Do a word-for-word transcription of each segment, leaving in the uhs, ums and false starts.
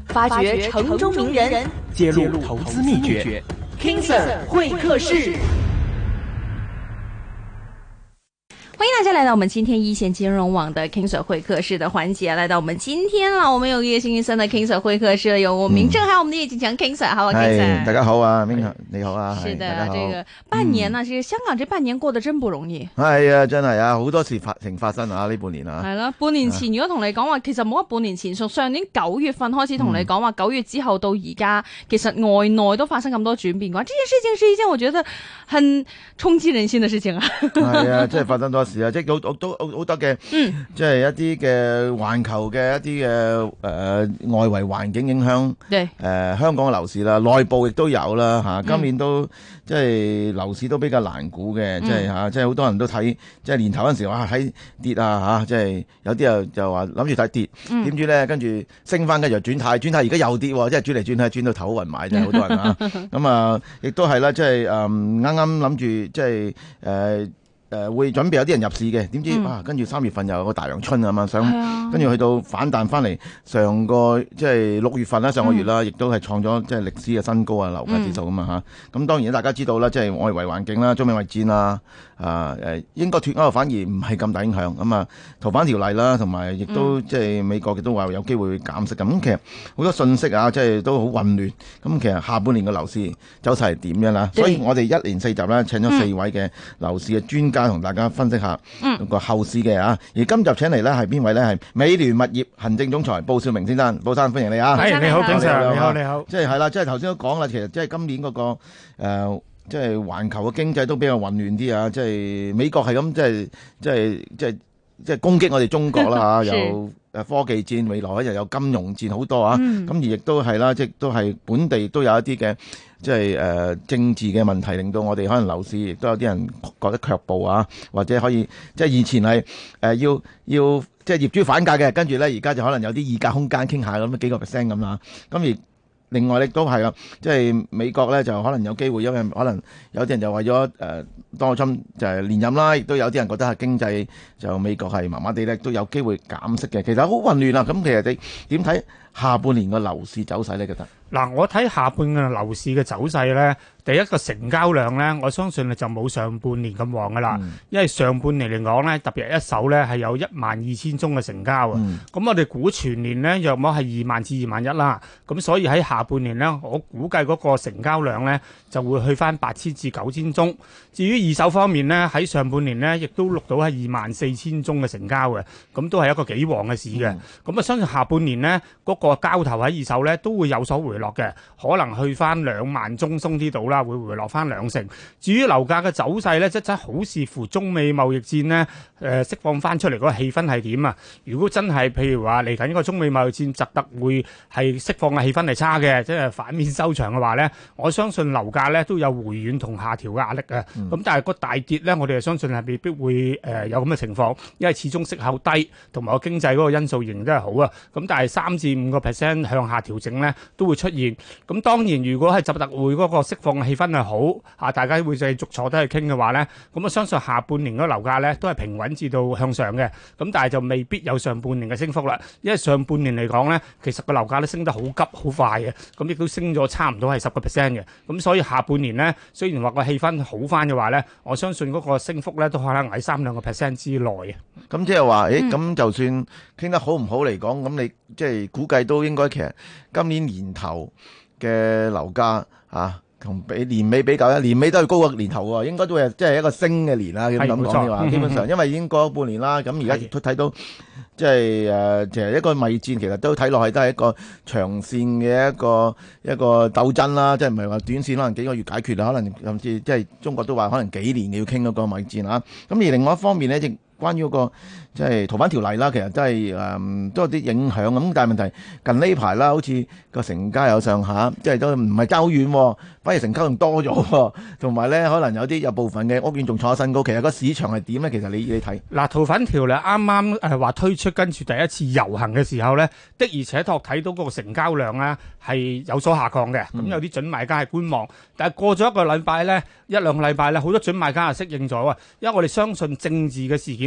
發掘城中名人， 揭露投資秘訣 King Sir 會客室。歡迎大家來到我們今天一線金融網的 King Sir 會客室的環節，來到我們今天啦，我們有葉星期三的 King Sir 會客室，有我明正，還有我們的葉景強 King Sir，好啊 King Sir， 大家好啊，明你好啊， 是的，這個半年呢，其實香港這半年過得真不容易。 係啊，真係啊，好多事發情發生啊，呢半年啊。 係啦，半年前如果同你講話，其實冇乜半年前，從上年九月份開始同你講話，九月之後到而家，其實外內都發生咁多轉變嘅話，這件事情是一件我覺得很衝擊人心的事情啊。 係啊，即係發生多事啊，即係好都好多嘅，嗯，即係一啲嘅環球嘅一啲嘅誒外圍環境影響，誒、呃、香港嘅樓市啦，內部亦都有啦嚇、啊。今年都、嗯、即係樓市都比較難估嘅、嗯，即係嚇、啊，即係好多人都睇，即係年頭嗰陣時哇喺跌啊嚇、啊，即係有啲又就話諗住睇跌，點、嗯、知咧跟住升翻跟住轉態，轉態而家又跌喎，即係轉嚟轉去轉到頭暈埋，真係好多人啊。咁啊，亦都係啦，即係誒啱啱諗住即係誒。呃誒、呃、會準備有啲人入市嘅，點知、嗯、啊跟住三月份又有個大陽春啊嘛，想跟住去到反彈翻嚟，上個即係六月份啦，上個月啦，亦、嗯、都係創咗即係歷史嘅新高啊，樓價指數咁嘛嚇。咁、嗯、當然大家知道啦，即係外圍環境啦，中美貿易戰啊，啊誒英國脫歐反而唔係咁大影響咁啊，逃犯條例啦，同埋亦都、嗯、即係美國亦都話有機會減息咁。咁其實好多信息啊，即係都好混亂。咁其實下半年嘅樓市走勢係點樣啦？所以我哋一連四集咧請咗四位嘅樓市嘅專家同大家分析下個後市嘅啊，而今集請嚟咧係邊位咧？係美聯物業行政總裁布少明先生，布生歡迎你啊！ 係你好，景 Sir，你好你好。 即係係啦，即係頭先都講啦，其實即係今年嗰、那個誒、呃，即係環球嘅經濟都比較混亂啲啊！即係美國係咁，即係即係即係即係攻擊我哋中國啦嚇，有誒科技戰，未來又有金融戰好多啊！咁、嗯、而亦都係啦，即係都係本地都有一啲嘅。即係誒、呃、政治嘅問題，令到我哋可能樓市亦都有啲人覺得卻步啊，或者可以即係以前係誒、呃、要要即係業主反價嘅，跟住咧而家就可能有啲議價空間傾下咁幾個 percent 咁啦。咁而另外亦都係啦，即係美國咧就可能有機會，因為可能有啲人就為咗誒當侵就係連任啦，亦都有啲人覺得係經濟就美國係麻麻地咧，都有機會減息嘅。其實好混亂啊！咁其實你點睇下半年個樓市走勢咧？覺得？ 嗱，我睇下半年樓市嘅走勢咧，第一個成交量咧，我相信就冇上半年咁旺噶啦、嗯，因為上半年嚟講咧，特別係一手咧係有一萬二千宗嘅成交啊。咁、嗯、我哋估全年咧，約莫係二萬至二萬一啦。咁所以喺下半年咧，我估計嗰個成交量咧就會去翻八千至九千宗。至於二手方面咧，喺上半年咧亦都錄到係二萬四千宗嘅成交嘅，咁都係一個幾旺嘅市嘅。咁、嗯、啊，相信下半年咧嗰、嗰個交投喺二手咧都會有所回落嘅，可能去翻兩萬宗鬆啲度啦，會回落翻兩成。至於樓價嘅走勢咧，即真好視乎中美貿易戰呢誒釋放翻出嚟嗰個氣氛係點啊？如果真係譬如話嚟緊呢個中美貿易戰，實特會係釋放嘅氣氛係差嘅，即係反面收場嘅話咧，我相信樓價咧都有回軟同下調嘅壓力啊。咁、嗯、但係個大跌咧，我哋係相信係未必會誒、呃、有咁嘅情況，因為始終息口低，同埋個經濟嗰個因素仍然都係好啊。咁但係三至五個 percent 向下調整咧都會出現。咁當然，如果係習特會嗰個釋放嘅氣氛係好啊，大家會繼續坐低去傾嘅話咧，咁我相信下半年嗰個樓價咧都係平穩至到向上嘅。咁但係就未必有上半年嘅升幅啦，因為上半年嚟講咧，其實個樓價都升得好急好快嘅，咁亦都升咗差唔多係十個 percent 嘅。咁所以下半年咧，雖然話個氣氛好翻嘅話咧，我相信嗰個升幅咧都可能喺三兩個 percent 之內嘅。 咁即係話，誒，咁就算傾得好唔好嚟講，咁你即係估計都應該其實今年年頭嘅樓價啊，同比年尾比較咧，年尾都係高過年頭喎，應該都係即係一個升嘅年啦。咁講嘅話，基本上因為已經過咗半年啦，咁而家亦都睇到即係誒，其實一個貿易戰其實都睇落去都係一個長線嘅一個一個鬥爭啦，即係唔係話短線可能幾個月解決啦，可能甚至即係中國都話可能幾年要傾嗰個貿易戰啊。咁而另外一方面咧，亦關於嗰個即係逃犯條例啦，其實都係誒都有啲影響咁，但係問題近呢排啦，好似個成交有上下，即係都唔係爭好遠，反而成交仲多咗，同埋咧可能有啲有部分嘅屋苑仲創新高。其實個市場係點咧？其實你你睇嗱，逃犯條例啱啱誒話推出，跟住第一次遊行嘅時候咧，的而且確睇到嗰個成交量咧係有所下降嘅。咁、嗯、有啲準買家係觀望，但係過咗一個禮拜咧，一兩個禮拜咧，好多準買家係適應咗啊，因為我哋相信政治嘅事件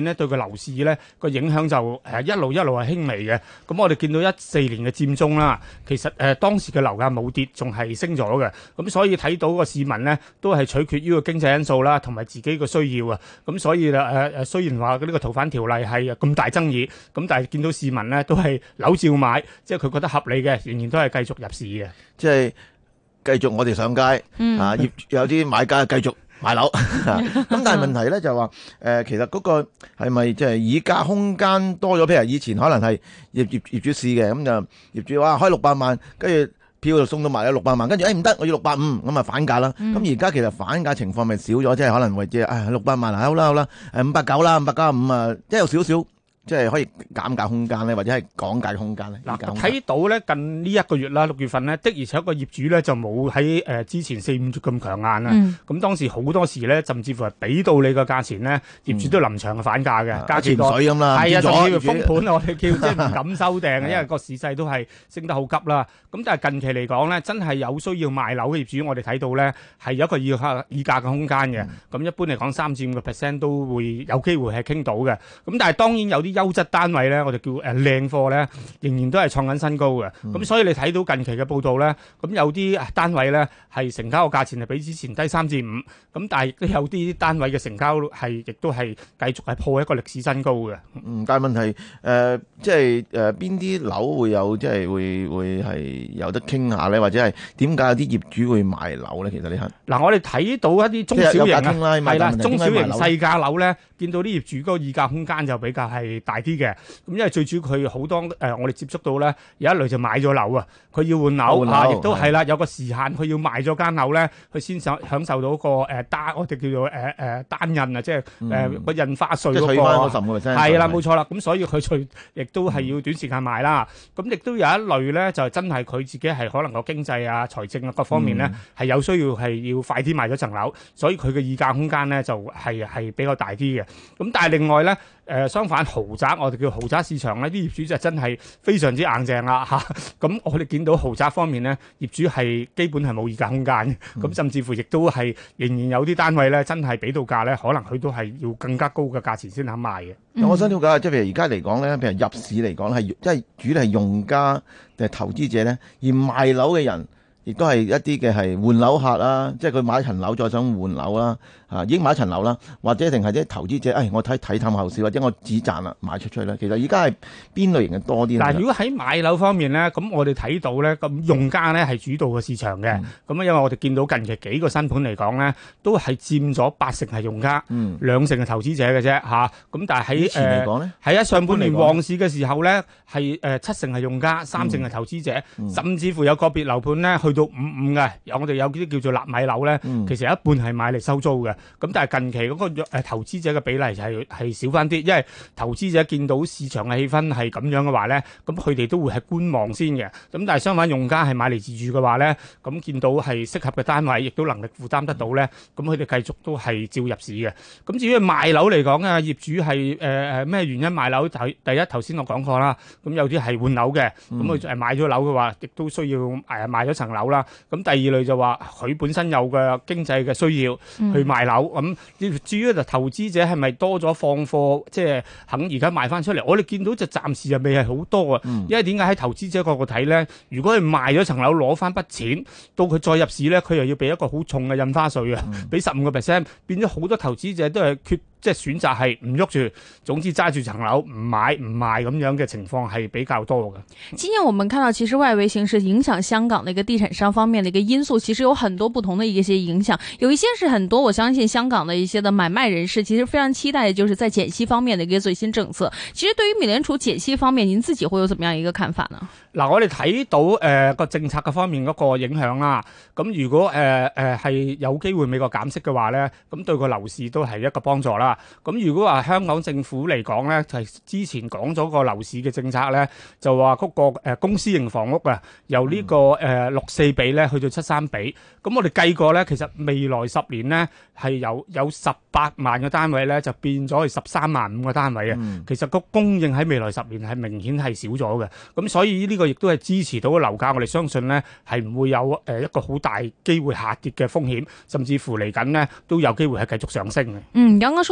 顯咧對個樓市咧個影響就誒一路一路係輕微嘅。咁我哋見到一四年嘅佔中啦，其實誒、呃、當時嘅樓價冇跌，仲係升咗嘅。咁所以睇到個市民咧都係取決於個經濟因素啦，同埋自己個需要啊。咁所以誒誒雖然話呢個逃犯條例係咁大爭議，咁但係見到市民咧都係樓照買，即係佢覺得合理嘅，仍然都係繼續入市嘅。 即係繼續我哋上街、嗯、啊，業有啲買家繼續買樓。咁但係問題咧就話誒、呃，其實嗰個係咪即係議價空間多咗？譬如以前可能係業業業主試嘅，咁就業主話開六百萬，跟住票就送到埋咗六百萬，跟住誒唔得，我要六百五，咁啊反價啦。咁而家其實反價情況咪少咗，即係可能為即係誒六百萬啊，好啦好啦，誒五百九啦，五百加五啊，即係有少少。即係可以減價空間咧，或者係講價空間咧。嗱， 睇到咧近呢一個月啦，六月份咧的而且確個業主咧就冇喺誒之前四五月咁強硬啦。咁、嗯、當時好多時咧，甚至乎係俾到你個價錢咧，業主都臨場嘅反價嘅， 嗯、 加錢潛水咁啦。 係啊，甚至乎封盤我哋叫即係唔敢收訂嘅，因為個市勢都係升得好急啦。咁但係近期嚟講咧，真係有需要賣樓嘅業主，我哋睇到咧係有一個議價議價嘅空間嘅。咁、嗯、一般嚟講，三至五個 percent 都會有機會係傾到嘅。咁但係當然有啲優質單位咧，我哋叫誒靚貨咧，仍然都係創緊新高嘅。咁、嗯、所以你睇到近期嘅報道咧，咁有啲單位咧係成交嘅價錢係比之前低三至五，咁但係亦都有啲單位嘅成交係亦都係繼續係破一個歷史新高嘅。 嗯，但係問題誒、呃，即係誒邊啲樓會有即係會會係有得傾下咧，或者係點解有啲業主會賣樓咧？其實你係嗱， 我哋睇到一啲中小型啊，係啦，中小型細價樓咧，見到啲業主嗰個議價空間就比較係大啲嘅。咁因為最主要佢好多誒、呃，我哋接觸到咧，有一類就買咗樓啊，佢要換樓啊，亦都係啦，有個時限，佢要賣咗間樓咧，佢先享享受到個誒、呃、單，我哋叫做誒誒、呃、單印啊，即係誒個印花稅嗰、那個，係啦，冇錯啦。咁所以佢佢亦都係要短時間賣啦。咁、嗯、亦都有一類咧，就真係佢自己係可能個經濟啊、財政啊各方面咧係、嗯、有需要係要快啲賣咗層樓，所以佢嘅議價空間咧就係、是、係比較大啲嘅。咁但係另外咧。誒、呃、相反豪宅，我哋叫豪宅市場呢啲業主就真係非常之硬淨啦嚇。咁、啊、我哋見到豪宅方面呢，業主係基本係冇議價空間嘅。咁、嗯、甚至乎亦都係仍然有啲單位咧，真係俾到價咧，可能佢都係要更加高嘅價錢先肯賣嘅。 嗯、我想了解，即係譬如而家嚟講咧，譬如入市嚟講係即係主要係用家定係投資者咧，而賣樓嘅人。亦都係一啲嘅係換樓客啦，即係佢買一層樓再想換樓啦，啊已經買一層樓啦，或者定係啲投資者，誒、哎、我睇睇淡後市或者我止賺啦賣出去啦。其實而家係邊類型嘅多啲？ 嗱，如果喺買樓方面咧，咁我哋睇到咧，咁用家咧係主導嘅市場嘅。咁、嗯、因為我哋見到近期幾個新盤嚟講咧，都係佔咗八成係用家，嗯、兩成係投資者嘅啫嚇。咁、啊、但係喺誒喺啊上半年旺市嘅時候咧，係誒、呃、七成係用家，三成係投資者，嗯嗯、甚至乎有個別樓盤咧去到五五嘅，有我哋有啲叫做納米樓咧，嗯、其實一半係買嚟收租嘅。咁但係近期嗰個誒投資者嘅比例就係係少翻啲，因為投資者見到市場嘅氣氛係咁樣嘅話咧，咁佢哋都會係觀望先嘅。咁但係相反，用家係買嚟自住嘅話咧，咁見到係適合嘅單位，亦都能力負擔得到咧，咁佢哋繼續都係照入市嘅。咁至於賣樓嚟講啊，業主係誒誒咩原因賣樓？第第一頭先我講過啦，咁有啲係換樓嘅，咁佢誒買咗樓嘅話，亦都需要誒賣咗層樓啦。咁第二類就話佢本身有嘅經濟嘅需要去賣樓，咁、嗯、至於就投資者係咪多咗放貨，即係肯而家賣翻出嚟？我哋見到就暫時又未係好多啊，嗯、因為點解喺投資者角度睇咧？如果佢賣咗層樓攞翻筆錢，到佢再入市咧，佢又要俾一個好重嘅印花稅啊，俾十五個 percent，變咗好多投資者都係缺。即係選擇係唔喐住，總之揸住層樓唔買唔賣咁樣嘅情況係比較多嘅。 今年我們看到，其實外圍形勢影響香港的一個地產商方面的一個因素，其實有很多不同的一些影響。有一些是很多，我相信香港的一些的買賣人士其實非常期待的，就是在減息方面的一個最新政策。其實對於美聯儲減息方面，您自己會有怎麼樣一個看法呢？ 嗱，我哋睇到誒個、呃、政策嘅方面嗰個影響啦。咁如果誒誒係有機會美國減息嘅話咧，咁對個樓市都係一個幫助啦。咁如果話香港政府嚟講咧，就係、是、之前講咗個樓市嘅政策咧，就話嗰個誒公私營房屋啊，由呢個誒六四比咧去到七三比。咁我哋計過咧，其實未來十年咧係有有十八萬個單位咧，就變咗係十三萬五個單位啊。嗯、其實個供應喺未來十年係明顯係少咗嘅。咁所以呢個亦都係支持到個樓價，我哋相信咧係唔會有誒一個好大機會下跌嘅風險，甚至乎嚟緊呢都有機會係繼續上升嘅。 嗯，剛剛說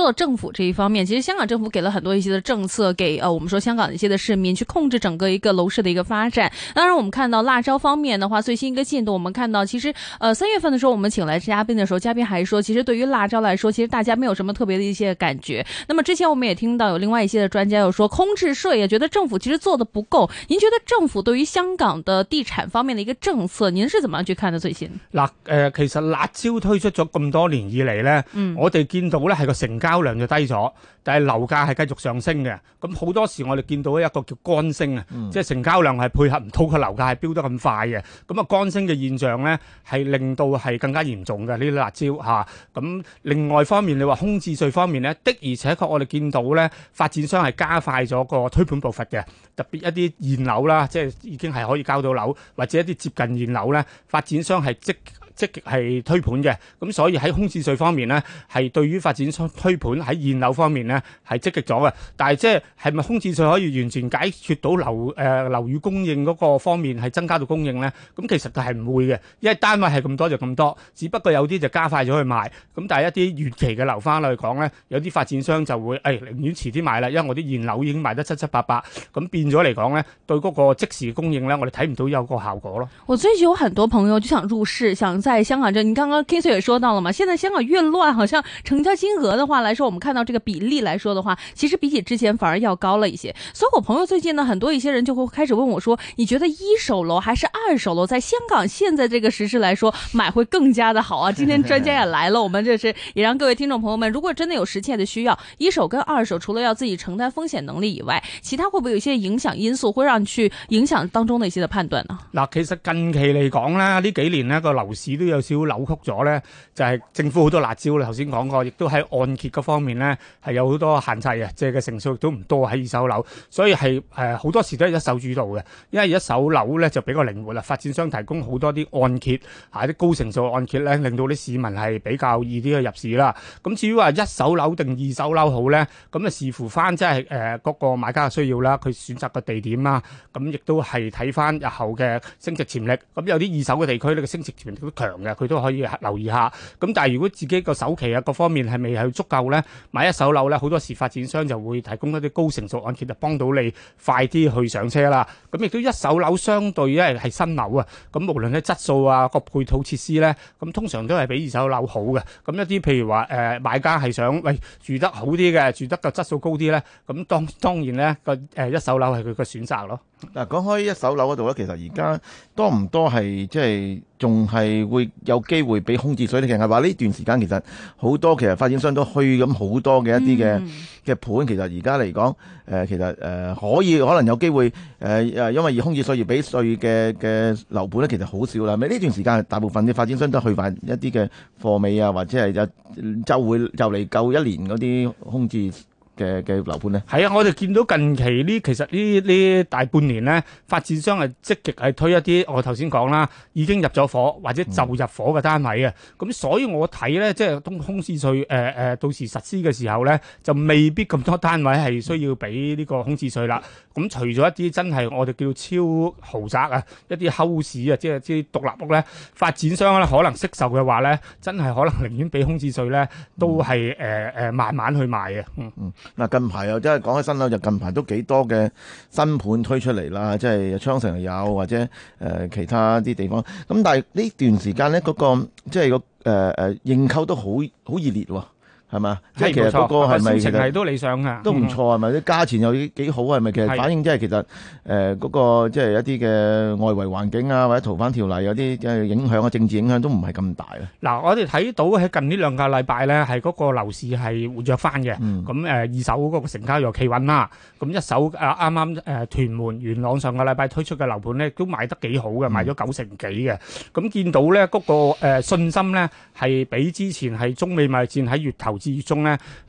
到政府這一方面，其實香港政府給了很多一些的政策，給呃我們說香港的一些的市民去控制整個一個樓市的一個發展。當然，我們看到辣招方面的話，最新一個進度，我們看到其實呃三月份的時候，我們請來嘉賓的時候，嘉賓還說，其實對於辣招來說，其實大家沒有什麼特別的一些感覺。那麼之前我們也聽到有另外一些的專家有說，空置稅也覺得政府其實做得不夠。您覺得政府對於香港的地產方面的一個政策，您是怎麼樣去看的？最新嗱，誒、呃，其實辣招推出咗咁多年以嚟咧，嗯、我哋見到咧係個成交量就低咗，但係樓價係繼續上升嘅。咁好多時我哋見到一個叫乾升啊，嗯、即係成交量係配合唔到個樓價係飆得咁快嘅。咁啊乾升嘅現象咧係令到係更加嚴重嘅呢啲辣招嚇。咁、啊、另外方面，你話空置稅方面咧，的而且確我哋見到咧發展商係加快咗個推盤步伐嘅，特別一啲現樓啦，即係已經係可以交到樓，或者一啲接近現樓咧，發展商係積積極係推盤嘅，咁所以喺空置稅方面呢，係對於發展商推盤喺現樓方面呢係積極咗嘅。但係即係係咪空置稅可以完全解決到樓誒樓宇供應嗰個方面係增加到供應呢？咁其實係唔會嘅，因為單位係咁多就咁多，只不過有啲就加快咗去賣。咁但係一啲遠期嘅樓花嚟講呢，有啲發展商就會誒、哎、寧願遲啲賣啦，因為我啲現樓已經賣得七七八八，咁變咗嚟講呢，對嗰個即時供應呢，我哋睇唔到有個效果咯。 我最近有很多朋友就想入市，想在香港這，你剛剛 King Sir 也說到了嘛，現在香港越亂，好像成交金額的話來說，我們看到這個比例來說的話，其實比起之前反而要高了一些。所以我朋友最近呢，很多一些人就會開始問我說，你覺得一手樓還是二手樓在香港現在這個時勢來說買會更加的好啊？今天專家也來了，我們這是也讓各位聽眾朋友們，如果真的有實切的需要，一手跟二手除了要自己承擔風險能力以外，其他會不會有一些影響因素會讓你去影響當中的一些的判斷呢？ 嗱，其實近期嚟講咧，呢幾年呢個樓市都有少少扭曲咗咧，就係、是、政府好多辣招啦，頭先講過，亦都喺按揭嗰方面咧係有好多限制嘅，借嘅成數亦都唔多喺二手樓，所以係誒好多時都係一手主導嘅，因為一手樓咧就比較靈活啦，發展商提供好多啲按揭，嚇啲高成數按揭咧，令到啲市民係比較易啲去入市啦。咁至於話一手樓定二手樓好咧，咁啊視乎翻即係誒嗰個買家嘅需要啦，佢選擇嘅地點啦，咁亦都係睇翻日後嘅升值潛力。咁有啲二手嘅地區呢個升值潛力都強嘅，佢都可以留意下。咁但係如果自己個首期啊各方面係未係足夠咧，買一手樓咧，好多時發展商就會提供一啲高成數按揭，就幫到你快啲去上車啦。咁亦都一手樓相對因為係新樓啊，咁無論喺質素啊個配套設施咧，咁通常都係比二手樓好嘅。咁一啲譬如話誒、呃、買家係想喂住得好啲嘅，住得個質素高啲咧，咁當當然咧個誒一手樓係佢個選擇咯。 嗱，講開一手樓嗰度咧，其實而家多唔多係即係仲係會有機會俾空置稅咧？其實係話呢段時間其實好多其實發展商都虛咁好多嘅一啲嘅嘅盤，其實而家嚟講誒，其實誒、呃、可以可能有機會誒誒、呃，因為以空置稅而俾稅嘅嘅樓盤咧，其實好少啦。咪呢段時間大部分嘅發展商都去翻一啲嘅貨尾啊，或者係就就會就嚟夠一年嗰啲空置嘅嘅樓盤咧， 係啊！我哋見到近期呢，其實呢呢大半年咧，發展商係積極係推一啲我頭先講啦，已經入咗伙或者就入伙嘅單位啊。咁、嗯、所以我睇咧，即係空空置稅誒誒，到時實施嘅時候咧，就未必咁多單位係需要俾呢個空置稅啦。咁、嗯、除咗一啲真係我哋叫超豪宅啊，一啲 house 啊，即係啲獨立屋咧，發展商咧可能惜售嘅話咧，真係可能寧願俾空置稅咧，都係誒誒慢慢去賣嘅。嗯嗯。 嗱，近排又真係講起新樓，就近排都幾多嘅新盤推出嚟啦，即係昌城又有或者誒、呃、其他啲地方。咁但係呢段時間咧，嗰、那個即係個誒誒認購都好好熱烈喎。係嘛？即係其實嗰個係咪其實係都理想㗎， 都唔錯係咪？啲價錢又幾好係咪？其實反映即係其實誒嗰、呃那個即係一啲嘅外圍環境啊，或者逃犯條例有啲嘅影響啊，政治影響都唔係咁大啊。 嗱，我哋睇到喺近呢兩個禮拜咧，係嗰個樓市係活躍翻嘅。咁誒、 嗯呃、二手嗰個成交又企穩啦。咁一手誒啱啱誒屯門元朗上個禮拜推出嘅樓盤咧，都賣得幾好嘅，賣咗九成幾嘅。咁見到咧嗰、那個、呃、信心咧係比之前係中美貿易戰喺月頭至月中咧係誒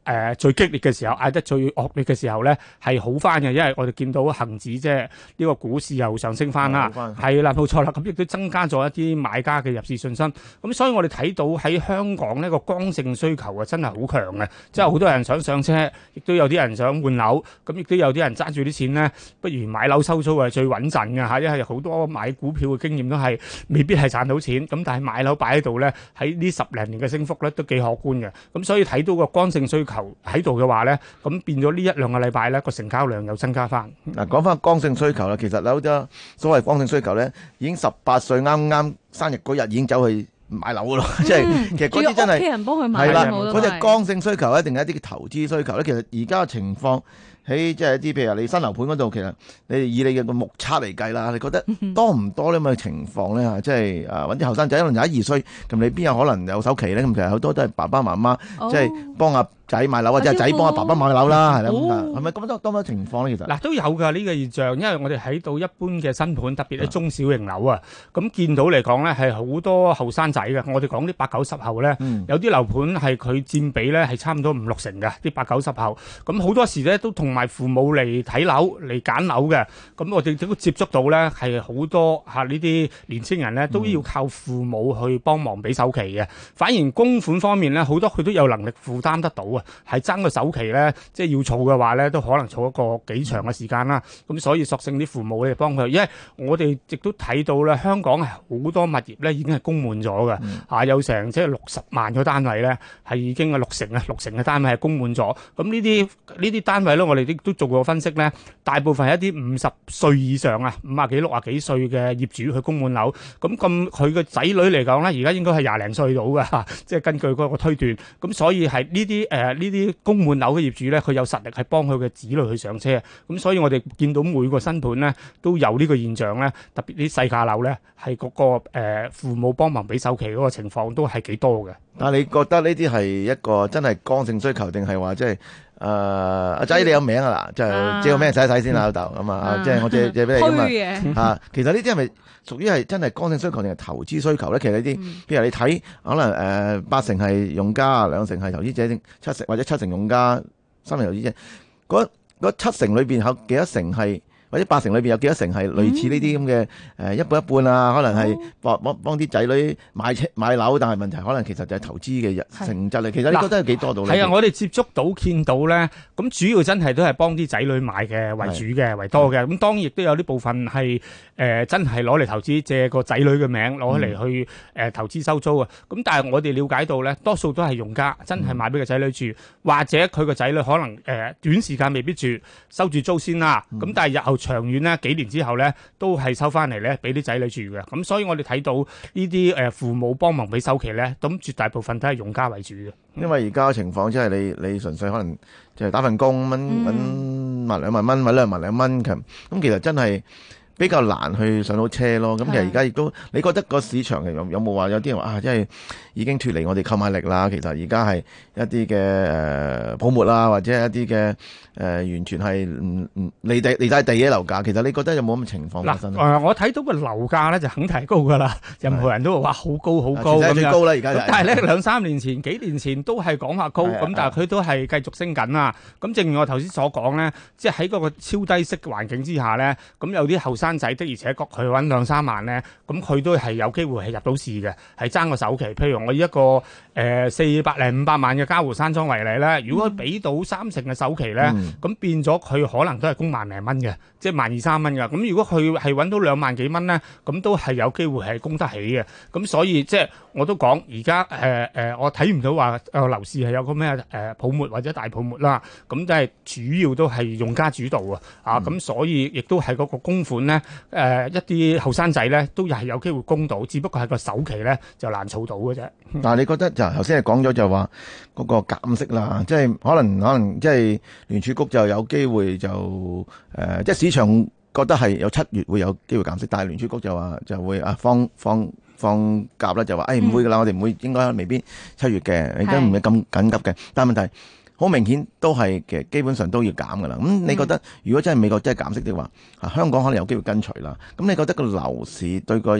呃、最激烈嘅時候，嗌得最惡劣嘅時候咧，係好翻嘅，因為我哋見到恒指即係呢個股市又上升翻啦，係啦，冇錯啦，咁亦都增加咗一啲買家嘅入市信心。咁所以我哋睇到喺香港呢個剛性需求啊，真係好強嘅，即係好多人想上車，亦都有啲人想換樓，咁亦都有啲人揸住啲錢咧，不如買樓收租係最穩陣嘅嚇，因為好多買股票嘅經驗都係未必係賺到錢，咁但係買樓擺喺度咧，喺呢十零年嘅升幅咧都幾可觀嘅，咁所以睇到個剛性需求喺度嘅話咧，咁變咗呢一兩個禮拜咧個成交量又增加翻。 嗱，講翻剛性需求啦，其實有好多所謂剛性需求咧，已經十八歲啱啱生日嗰日已經走去買樓噶咯，即係、嗯、其實嗰啲真係屋企人幫佢買，係啦， 嗰隻剛性需求一定係一啲投資需求咧。其實而家嘅情況喺即係一啲譬如你新樓盤嗰度，其實你以你嘅個目測嚟計啦，你覺得多唔多呢咁嘅情況咧？嚇，即係誒揾啲後生仔可能廿一二歲，咁你邊有可能有首期咧？咁其實好多都係爸爸媽媽即係、哦、幫阿仔買樓，或者係仔幫阿爸爸買樓啦，係啦咁啊，係咪咁多多乜情況咧？其實嗱都有㗎呢個現象，因為我哋喺到一般嘅新盤，特別係中小型樓啊，咁見到嚟講咧係好多後生仔嘅。我哋講啲八九十後咧，嗯、有啲樓盤係佢佔比咧係差唔多五六成嘅啲八九十後，咁好多時咧都同埋父母嚟睇樓嚟揀樓嘅，咁我哋都接觸到咧係好多嚇呢啲年青人咧都要靠父母去幫忙俾首期嘅，反而供款方面咧好多佢都有能力負擔得到啊。係爭個首期咧，即係要儲嘅話咧，都可能儲一個幾長嘅時間啦。咁所以索性啲父母咧幫佢，因為我哋亦都睇到咧，香港係好多物業咧已經係供滿咗嘅，嗯、啊有成即係六十萬個單位咧係已經係六成啊，六成嘅單位係供滿咗。咁呢啲呢啲單位咧，我哋亦都做過分析咧，大部分係一啲五十歲以上啊，五啊幾六啊幾歲嘅業主去供滿樓。咁咁佢嘅仔女嚟講咧，而家應該係廿零歲到㗎，即係根據嗰個推斷。咁所以係呢啲誒。呃呢啲供滿樓嘅業主咧，佢有實力係幫佢嘅子女去上車，咁所以我哋見到每個新盤咧都有呢個現象咧，特別啲細價樓咧係嗰個誒、呃、父母幫忙俾首期嗰個情況都係幾多嘅。 但係你覺得呢啲係一個真係剛性需求，定係話即係誒阿仔你有名啊啦，就借個名睇一睇先啦，老豆咁啊，即係我借借俾你咁啊。啊，其實呢啲係咪屬於係真係剛性需求定係投資需求咧？其實呢啲，譬如你睇可能誒、呃、八成係用家，兩成係投資者，七成或者七成用家，三成投資者。嗰嗰七成裏邊有幾多成係？或者八成裏邊有幾多成係類似呢啲咁嘅誒一半一半啊？可能係幫幫幫啲仔女買車買樓，但係問題可能其實就係投資嘅性質嚟。其實你覺得有幾多度咧？ 係啊，我哋接觸到見到咧，咁主要真係都係幫啲仔女買嘅為主嘅為多嘅。咁當然亦都有啲部分係誒、呃、真係攞嚟投資，借個仔女嘅名攞嚟去誒、呃、投資收租啊。咁但係我哋了解到咧，多數都係用家真係買俾個仔女住，嗯、或者佢個仔女可能誒、呃、短時間未必住，收住租先啦。咁、嗯、但係日後長遠咧，幾年之後咧，都係收翻嚟咧，俾啲仔女住嘅。咁所以我哋睇到呢啲誒父母幫忙俾首期咧，咁絕大部分都係用家為主嘅。 因為而家嘅情況即係你你純粹可能就係打份工，搵搵萬兩萬蚊，搵兩萬兩蚊咁，咁其實真係比較難去上到車咯。咁其實而家亦都，你覺得個市場有有冇話有啲人話啊，即係已經脫離我哋購買力啦？其實而家係一啲嘅誒泡沫啦，或者係一啲嘅誒完全係唔唔離地離晒地嘅樓價。其實你覺得有冇咁嘅情況發生？ 嗱，我睇到個樓價咧就肯定係高噶啦，任何人都會話好高好高咁樣。最高啦而家， 但係咧兩三年前、幾年前都係講話高，咁但係佢都係繼續升緊啊。咁正如我頭先所講咧，即係喺嗰個超低息嘅環境之下咧，咁有啲後生仔的而且確佢揾兩三萬咧，咁佢都係有機會係入到市嘅，係爭個首期。譬如我以一個誒四百零五百萬嘅嘉湖山莊為例咧，如果佢俾到三成嘅首期咧，咁、嗯、變咗佢可能都係供萬零蚊嘅，即係萬二三蚊㗎。咁如果佢係揾到兩萬幾蚊咧，咁都係有機會係供得起嘅。咁所以即係我都講而家誒誒，我睇唔到話誒樓市係有個咩誒泡沫或者大泡沫啦。咁即係主要都係用家主導啊。啊，咁所以亦都係嗰個供款咧。誒、呃、一啲後生仔咧，都係有機會供到，只不過係個首期咧就難儲到嘅啫。 但係你覺得就頭先係講咗就話嗰個減息啦，即係可能可能即係聯儲局就有機會就誒、呃，即係市場覺得係有七月會有機會減息，但係聯儲局就話就會啊放放放鴿啦，就話誒唔會㗎啦，我哋唔會應該未必七月嘅，亦都唔係咁緊急嘅。但係問題好明顯都係嘅，基本上都要減㗎啦。咁你覺得如果真係美國真係減息的話，啊香港可能有機會跟隨啦。咁你覺得個樓市對個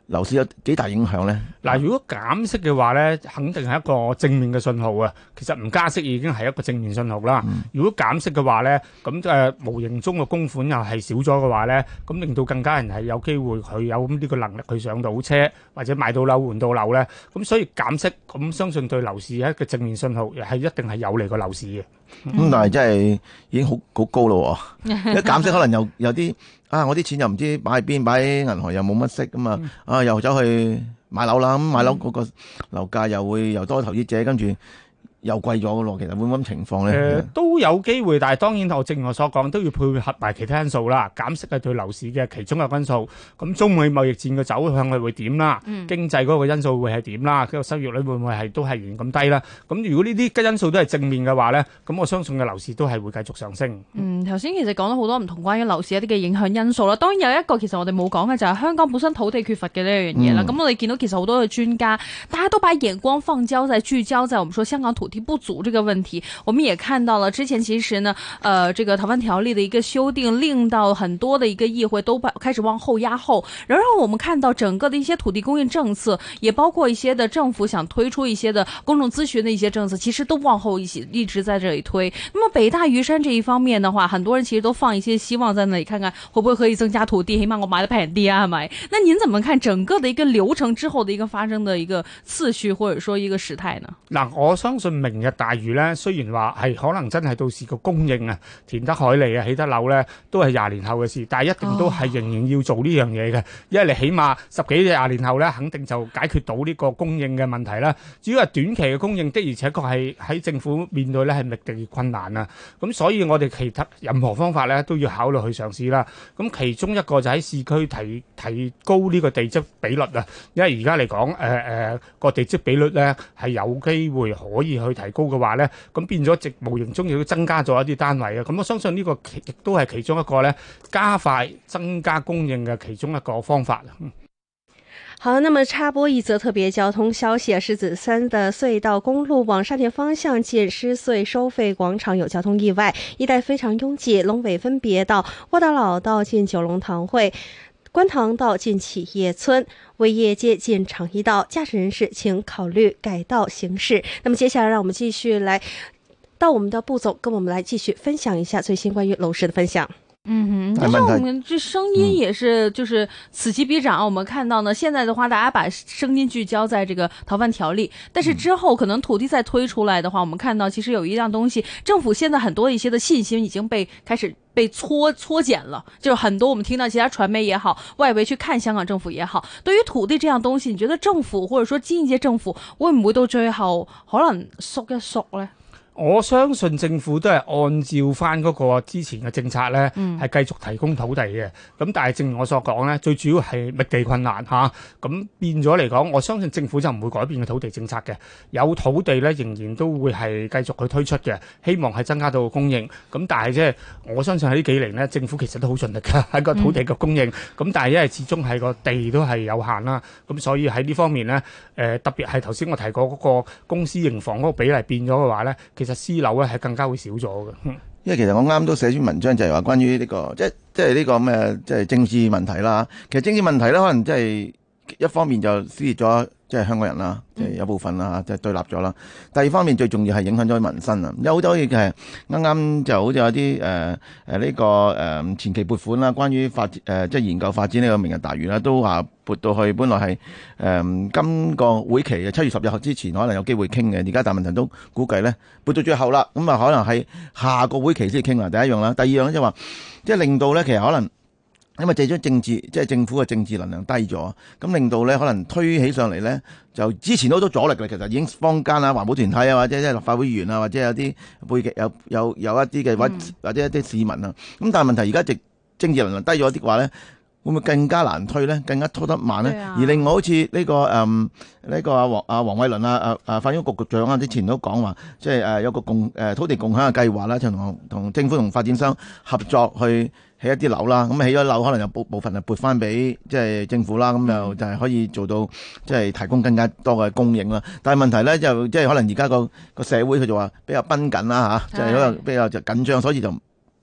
樓市有幾大影響咧？ 嗱，如果減息嘅話咧，肯定係一個正面嘅信號啊。其實唔加息已經係一個正面信號啦。嗯、如果減息嘅話咧，咁誒、呃、無形中嘅供款又係少咗嘅話咧，咁令到更加人係有機會佢有呢個能力去上到車或者買到樓換到樓咧。咁所以減息咁相信對樓市係一個正面信號，係一定係有利個樓市嘅。 咁、嗯、但係真係已經好好高咯，一減息可能有有啲啊，我啲錢又唔知擺喺邊，擺喺銀行又冇乜息咁啊，啊又走去買樓啦，咁買樓嗰個樓價又會又多投資者，跟住又貴咗嘅咯。其實會唔會咁情況咧？誒、呃、都有機會，但係當然我正如我所講，都要配合埋其他因素啦。減息係對樓市嘅其中一個因素。咁中美貿易戰嘅走向係會點啦？嗯、經濟嗰個因素會係點啦？個收益率會唔會係都係原咁低啦？咁如果呢啲因素都係正面嘅話咧，咁我相信嘅樓市都係會繼續上升。嗯， 頭先其實講咗好多唔同關於樓市一啲嘅影響因素啦。當然有一個其實我哋冇講嘅就係香港本身土地缺乏嘅呢樣嘢啦。咁、嗯、我哋見到其實好多嘅專家，大家都把眼光放焦在聚焦在我們說香港土地不足這個問題。我們也看到了之前其實呢，呃，這個逃犯條例的一個修訂，令到很多的一個議會都開始往後壓後。然後我們看到整個的一些土地供應政策，也包括一些的政府想推出一些的公眾諮詢的一些政策，其實都往後一起一直在這裏推。那麼北大嶼山這一方面的話，很多人其實都放一些希望在那裏，看看會不會可以增加土地，起碼我買得平啲啊，係咪？那您怎麼看整個的一個流程之後的一個發生的一個次序，或者說一個時態呢？ 嗱，我相信明日大嶼咧，雖然話係可能真係到時個供應啊，填得海利啊，起得樓咧，都係廿年後嘅事，但係一定都係仍然要做呢樣嘢嘅，因為你起碼十幾廿年後咧，肯定就解決到呢個供應嘅問題啦。至於係短期嘅供應，的而且確係喺政府面對咧係覓地困難啊。咁所以我哋其他任何方法咧都要考慮去嘗試啦。咁其中一個就喺市區提提高呢個地積比率啊，因為而家嚟講，誒誒個地積比率咧係有機會可以去提高嘅話咧，咁變咗直無形中亦都增加咗一啲單位啊。咁我相信呢個亦都係其中一個咧加快增加供應嘅其中一個方法。 好，那麼插播一則特別交通消息啊，獅子山的隧道公路往沙田方向近獅隧收費廣場有交通意外，一帶非常擁擠，龍尾分別到窩打老道近九龍塘會、觀塘道近啟業村、威業街近長益道，駕駛人士請考慮改道行駛。那麼接下來讓我們繼續來到我們的步驟，跟我們來繼續分享一下最新關於樓市的分享。 嗯哼，但是我們這聲音也是就是此起彼漲。我們看到呢，現在的話，大家把聲音聚焦在這個逃犯條例，但是之後可能土地再推出來的話，我們看到其實有一樣東西，政府現在很多一些的信心已經被開始被搓搓減了，就是很多我們聽到其他傳媒也好，外圍去看香港政府也好，對於土地這樣東西，你覺得政府或者說經濟政府會唔會到最後可能縮一縮呢？ 我相信政府都係按照翻嗰個之前嘅政策咧，係、嗯、繼續提供土地嘅。咁但係正如我所講咧，最主要係覓地困難嚇。咁、啊、變咗嚟講，我相信政府就唔會改變嘅土地政策嘅。有土地咧，仍然都會係繼續去推出嘅，希望係增加到供應。咁但係即係我相信喺呢幾年咧，政府其實都好盡力㗎喺個土地嘅供應。咁、嗯、但係因為始終係個地都係有限啦，咁所以喺呢方面咧，誒、呃、特別係頭先我提過嗰個公私營房嗰個比例變咗嘅話咧，其實私樓咧係更加會少咗嘅， 因為其實我啱都寫篇文章就係話關於呢、這個即係即係呢個咩即係政治問題啦。其實政治問題咧，可能即係一方面就撕裂咗即係香港人啦，即係有部分啦，即係對立咗啦。第二方面最重要係影響咗民生啊。有好多嘢係啱啱就好似有啲誒誒呢個誒、呃、前期撥款啦，關於發誒、呃、即係研究發展呢個明日大嶼啦，都話撥到去本來係誒、呃、今個會期嘅七月十日之前可能有機會傾嘅，而家大問題都估計咧撥到最後啦，咁啊可能係下個會期先傾啦。第一樣啦，第二樣咧就話即係令到咧其實可能。因為借咗政治，即係政府嘅政治能量低咗，咁令到咧可能推起上嚟咧，就之前都好多阻力嘅。其實已經坊間啊、環保團體啊，或者即係立法會議員啊，或者有啲背景有有有一啲嘅或或者一啲市民啊。咁但係問題而家直政治能量低咗啲嘅話咧，會唔會更加難推咧？更加拖得慢咧？啊、而另外好似呢、這個誒呢、嗯這個阿黃阿黃偉綸啊、誒誒發展局局長啊，之前都講話，即係誒有個共誒、呃、土地共享嘅計劃啦，就同同政府同發展商合作去起一啲樓啦。咁起咗樓可能有部部分係撥翻俾即係政府啦，咁就就係可以做到即係提供更加多嘅供應啦。但係問題咧就即係可能而家個個社會佢就話比較繃緊啦嚇，即係可能比較就緊張，所以就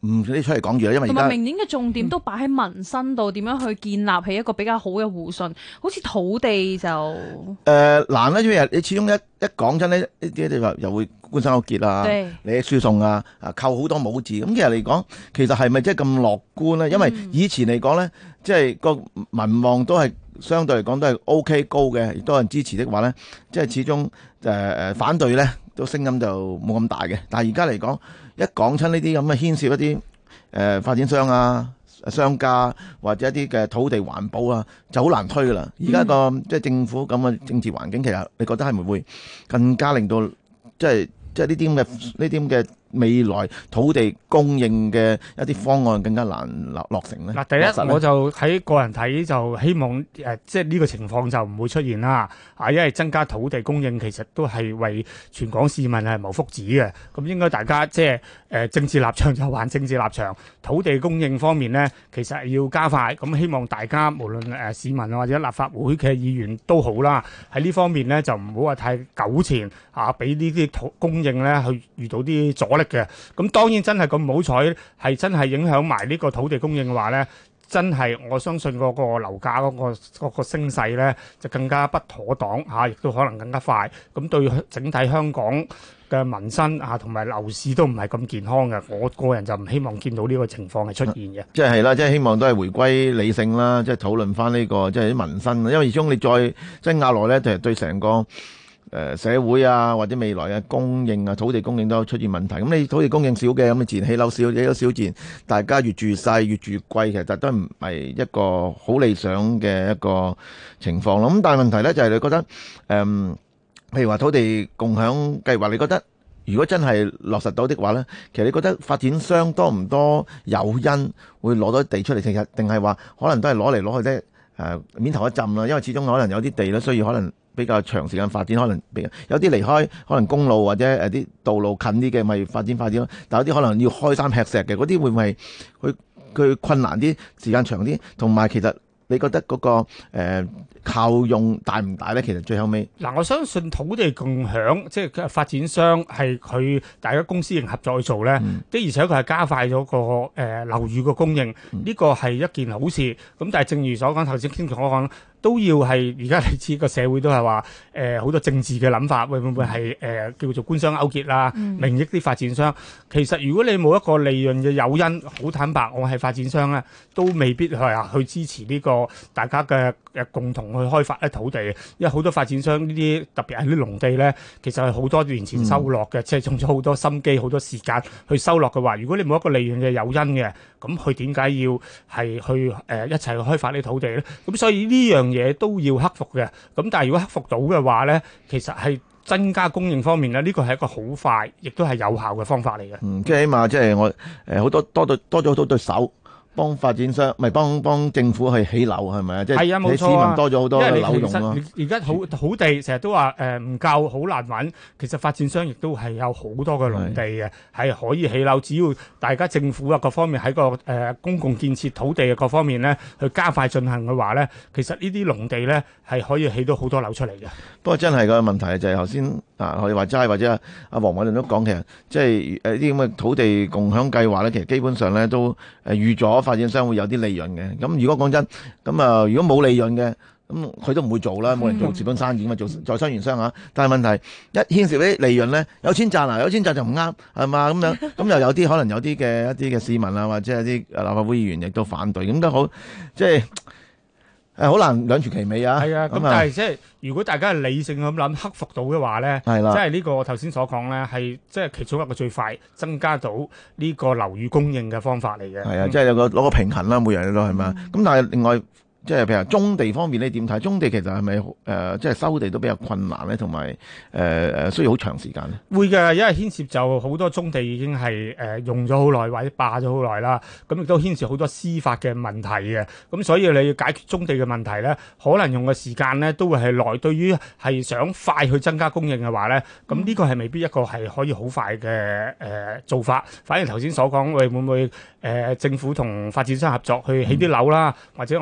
唔使出嚟講住啦，因為而家同埋明年嘅重點都擺喺民生度，點樣去建立起一個比較好嘅互信。好似土地就誒、 呃、難啦，因為你始終一一講真咧，呢啲就話又會官商勾結啊，你輸送啊，啊扣好多帽字。咁其實嚟講，其實係咪真係咁樂觀咧？因為以前嚟講咧，即係個民望都係相對嚟講都係 O K 高嘅，亦都有人支持的話咧，即係始終誒誒、呃、反對咧，都聲音就冇咁大嘅。但係而家嚟講，一講親呢啲咁嘅牽涉一啲誒、呃、發展商啊、商家或者一啲嘅土地環保啊，就好難推噶啦。而家個即係政府咁嘅政治環境，其實你覺得係咪會更加令到即係即係呢啲咁嘅呢啲咁嘅未來土地供應嘅一啲方案更加難落落成咧？ 嗱，第一我就喺個人睇就希望誒、呃，即係呢個情況就唔會出現啦。啊，因為增加土地供應其實都係為全港市民係謀福祉嘅。咁應該大家即係誒、呃、政治立場就還政治立場，土地供應方面呢，其實係要加快。咁希望大家無論誒、呃、市民或者立法會嘅議員都好啦，喺呢方面呢，就唔好話太糾纏啊，俾呢啲土供應咧去遇到啲阻力嘅。咁當然真係咁唔好彩，係真係影響埋呢個土地供應嘅話咧，真係我相信嗰個樓價嗰個嗰個升勢咧就更加不妥當嚇，亦都可能更加快。咁對整體香港嘅民生啊同埋樓市都唔係咁健康嘅。我個人就唔希望見到呢個情況係出現嘅。 即係係啦，即係希望都係回歸理性啦，即係討論翻呢個即係啲民生。因為始終你再即係壓落咧，就係對成個誒社會啊，或者未來嘅供應啊，土地供應都出現問題。咁你土地供應少嘅，咁你自然起樓少，起樓少自然大家越住越細，越住越貴，其實都唔係一個好理想嘅一個情況咯。咁但係問題咧就係你覺得誒、嗯，譬如話土地共享計劃，你覺得如果真係落實到的話咧，其實你覺得發展商多唔多誘因會攞到地出嚟？其實定係話可能都係攞嚟攞去咧誒面頭一浸啦，因為始終可能有啲地咧需要可能比較長時間發展，可能有啲離開可能公路或者誒啲道路近啲嘅，咪發展發展咯。但有啲可能要開山劈石嘅，嗰啲會唔會佢佢困難啲，時間長啲？同埋其實你覺得嗰、嗰個、呃、效用大唔大咧？其實最後尾嗱，我相信土地共享即係發展商係佢大家公司型合作去做咧，嗯、的而且確係加快咗個誒、呃、樓宇個供應，呢、嗯、個係一件好事。咁但係正如所講，頭先傾同我講。都要係而家你知個社會都係話誒好多政治嘅諗法，會唔會係誒、呃、叫做官商勾結啦、嗯、名益啲發展商？其實如果你冇一個利潤嘅誘因，好坦白，我係發展商咧，都未必係啊去支持呢個大家嘅誒共同去開發一土地。因為好多發展商呢啲特別係啲農地咧，其實係好多年前收落嘅，即係用咗好多心機、好多時間去收落嘅話，如果你冇一個利潤嘅誘因嘅，咁佢點解要係去誒、呃、一齊去開發啲土地咧？咁所以呢樣嘢都要克服嘅，咁但係如果克服到嘅話咧，其實係增加供應方面咧，呢個係一個好快，亦都係有效嘅方法嚟嘅。 嗯，即係起碼即係我誒好多多對多咗好多對手。幫發展商，咪幫幫政府去起樓係咪啊？即係你市民多咗好多樓用咯。 而家好土地成日都話誒唔夠，好難揾。其實發展商亦都係有好多嘅農地嘅，係可以起樓。只要大家政府啊各方面喺個誒、呃、公共建設土地嘅各方面咧，去加快進行嘅話咧，其實呢啲農地咧係可以起到好多樓出嚟嘅。不過真係個問題就係頭先啊，我哋話齋或者阿黃偉綸都講，其實即係誒啲咁嘅土地共享計劃咧，其實基本上咧都誒預咗。發展商會有啲利潤嘅，咁如果講真，咁啊如果冇利潤嘅，咁佢都唔會做啦，冇人做蝕本生意嘛，做在商言商嚇。但係問題一牽涉啲利潤咧，有錢賺啊，有錢賺就唔啱，係嘛咁樣，咁又有啲可能有啲嘅一啲嘅市民啊，或者係啲立法會議員亦都反對，咁都好，即係誒好難兩全其美啊。 係啊，咁但係即係如果大家係理性咁諗，克服到嘅話咧，即係呢個頭先所講咧，係即係其中一個最快增加到呢個樓宇供應嘅方法嚟嘅。 係啊，即係有個攞個平衡啦，每人都係嘛。咁、嗯、但係另外。即係譬如棕地方面你點睇？棕地其實係咪誒即係收地都比較困難咧，同埋誒誒需要好長時間咧？ 會嘅，因為牽涉就好多棕地已經係誒、呃、用咗好耐或者霸咗好耐啦。咁亦都牽涉好多司法嘅問題嘅。咁所以你要解決棕地嘅問題咧，可能用嘅時間咧都會係耐。對於係想快去增加供應嘅話咧，咁呢個係未必一個係可以好快嘅誒、呃、做法。反而頭先所講，會唔會誒、呃、政府同發展商合作去起啲樓啦，嗯、或者我頭先提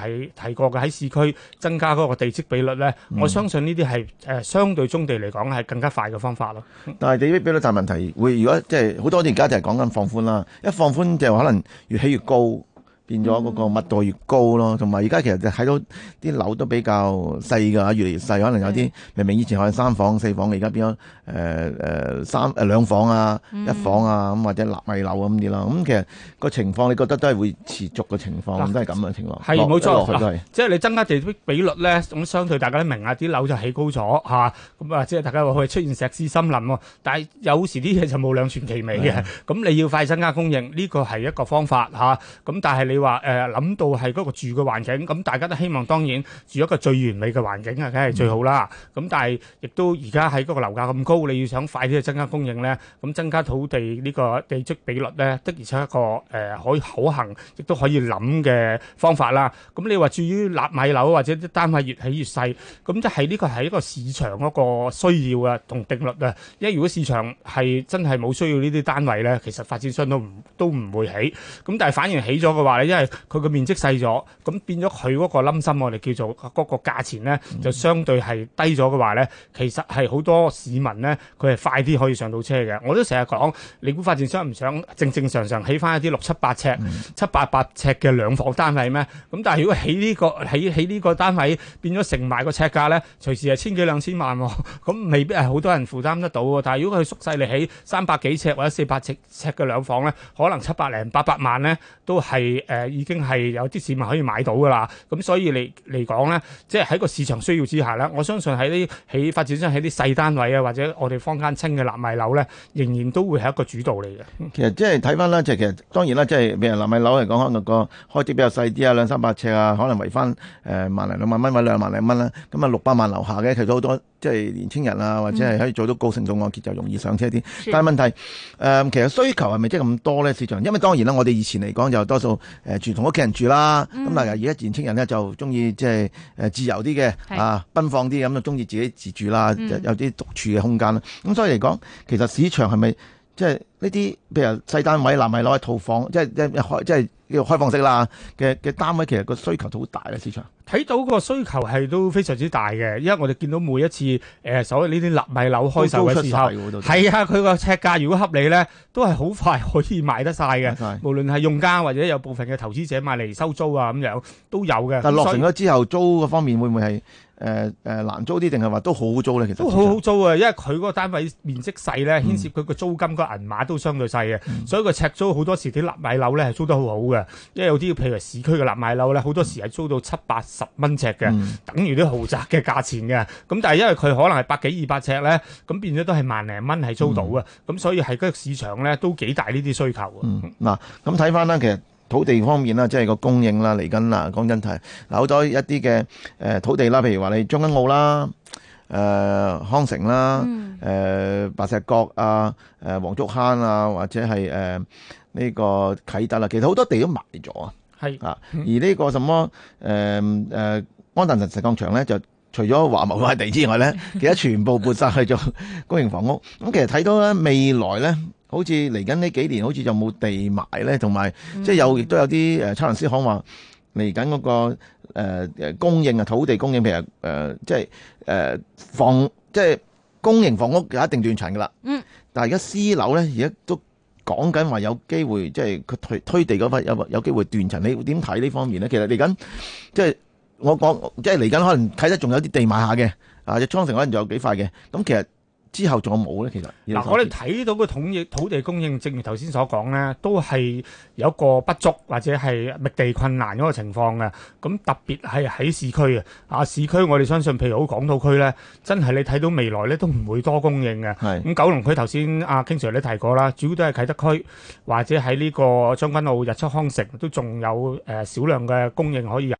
提提過嘅喺市區增加嗰個地積比率咧，嗯、我相信呢啲係誒相對棕地嚟講係更加快嘅方法咯。 但係地積比率大問題會，如果即係好多而家就係講緊放寬啦，一放寬就可能越起越高。變咗嗰個密度越高咯，同埋而家其實就睇到啲樓都比較細㗎，越嚟越細。可能有啲明明以前可能三房四房嘅，而家變咗誒誒三誒兩房啊、嗯、一房啊咁，或者納米樓咁啲啦。咁其實個情況，你覺得都係會持續嘅情況，嗯、都係咁嘅情況。係冇錯， 落去都係。即係你增加地積比率咧，咁相對大家都明啊，啲樓就起高咗嚇，咁啊即係大家話會出現石屎森林喎。但係有時啲嘢就冇兩全其美嘅，咁的你要快增加供應，呢個係一個方法嚇。咁、啊、但係你話誒諗到係嗰個住嘅環境，咁大家都希望當然住一個最完美嘅環境啊，梗係最好啦。咁、嗯、但係亦都而家喺嗰個樓價咁高，你要想快啲去增加供應咧，咁增加土地呢個地積比率咧，的而且確一個誒、呃、可以可行，亦都可以諗嘅方法啦。咁你話至於納米樓或者啲單位越起越細，咁即係呢個係一個市場嗰個需要啊同定律啊。因為如果市場係真係冇需要呢啲單位咧，其實發展商都唔都唔會起。咁但係反而起咗嘅話咧，因為佢個面積細咗，咁變咗佢嗰個冧心，我哋叫做嗰個價錢咧，就相對係低咗嘅話咧，其實係好多市民咧，佢係快啲可以上到車嘅。我都成日講，你估發展商唔想正正常常起翻一啲六七八尺、嗯、七八百尺嘅兩房單位咩？咁但係如果起呢、這個起起呢個單位變咗成埋個尺價咧，隨時係千幾兩千萬喎，咁未必係好多人負擔得到喎。但係如果佢縮細嚟起三百幾尺或者四百尺尺嘅兩房咧，可能七百零八百萬咧，都係誒、呃、已經係有啲市民可以買到噶啦。咁所以嚟嚟講咧，即係喺個市場需要之下咧，我相信喺啲起發展商喺啲細單位啊，或者我哋坊間稱嘅納米樓咧，仍然都會係一個主導嚟嘅。 其實即係睇翻啦，即係其實當然啦，即係譬如納米樓嚟講，可能個開支比較細啲啊，兩三百尺啊，可能圍翻誒萬零兩萬蚊或者兩萬零蚊啦。咁啊六百萬樓下嘅，其實好多即係年青人啊，或者係可以做到高成數按揭就容易上車啲。嗯、但係問題誒、呃，其實需求係咪即係咁多咧？市場，因為當然啦，我哋以前嚟講就多數誒、呃、住同屋企人住啦。咁、嗯、但係而家年青人咧就中意即係誒自由啲嘅是啊，奔放啲咁就中意自己自住啦，嗯、有啲獨處嘅空間啦。咁所以嚟講，其實市場係咪即係呢啲譬如細單位納米樓嘅套房，即係即係開即係叫開放式啦嘅嘅單位，其實個需求都好大咧。市場睇到個需求係都非常之大嘅，因為我哋見到每一次誒、呃、所謂呢啲納米樓開售嘅時候，係啊，佢個尺價如果合理咧，都係好快可以賣得晒嘅。的無論係用家或者有部分嘅投資者買嚟收租啊咁樣都有嘅。 但係落成咗之後，租嗰方面會唔會係？誒誒、呃、難租啲定係話都好好租咧？其實都好好租啊，因為佢嗰個單位面積細咧，牽涉佢個租金個銀碼都相對細嘅，嗯、所以個尺租好多時啲納米樓咧係租得好好嘅。因為有啲譬如市區嘅納米樓咧，好多時係租到七八十蚊尺嘅，嗯、等於啲豪宅嘅價錢嘅。咁但係因為佢可能係百幾二百尺咧，咁變咗都係萬零蚊係租到嘅。咁、嗯、所以係嗰個市場咧都幾大呢啲需求啊。 嗱、嗯，咁睇翻啦，其實。土地方面啦，即係個供應啦，嚟緊啦，講真係嗱，好多一啲嘅誒土地啦，譬如話你將軍澳啦、誒、呃、康城啦、誒、嗯呃、白石角啊、誒、呃、黃竹坑啊，或者係誒呢個啟德啦，其實好多地都賣咗啊，係啊，而呢個什麼誒誒安達臣石礦場咧，就除咗華懋塊地之外咧，其實全部撥晒去做公營房屋。咁其實睇到咧未來咧。好似嚟緊呢幾年，好似就冇地埋咧，同埋即係有亦都有啲誒測量師行話嚟緊嗰個誒誒、呃、供應啊，土地供應譬如誒、呃、即係誒、呃、房即係公營房屋有一定斷層噶啦。嗯。但係而家私樓咧，而家都講緊話有機會，即係佢推推地嗰塊有有機會斷層。你點睇呢方面咧？其實嚟緊即係我講，即係嚟緊可能睇得仲有啲地埋下嘅，啊，隻倉城可能仲有幾塊嘅。咁其實。之後仲有冇咧？其實嗱， 我哋睇到個統益土地供應，正如頭先所講咧，都係有一個不足或者係覓地困難嗰個情況嘅。咁特別係喺市區啊，啊市區我哋相信，譬如好港島區咧，真係你睇到未來咧都唔會多供應嘅。係咁是，九龍區頭先阿 King Sir 你提過啦，主要都係啟德區或者喺呢個將軍澳、日出康城都仲有誒少量嘅供應可以有。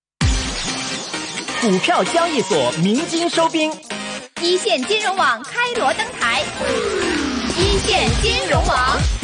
股票交易所鳴金收兵。 一線金融網開鑼登台，一線金融網。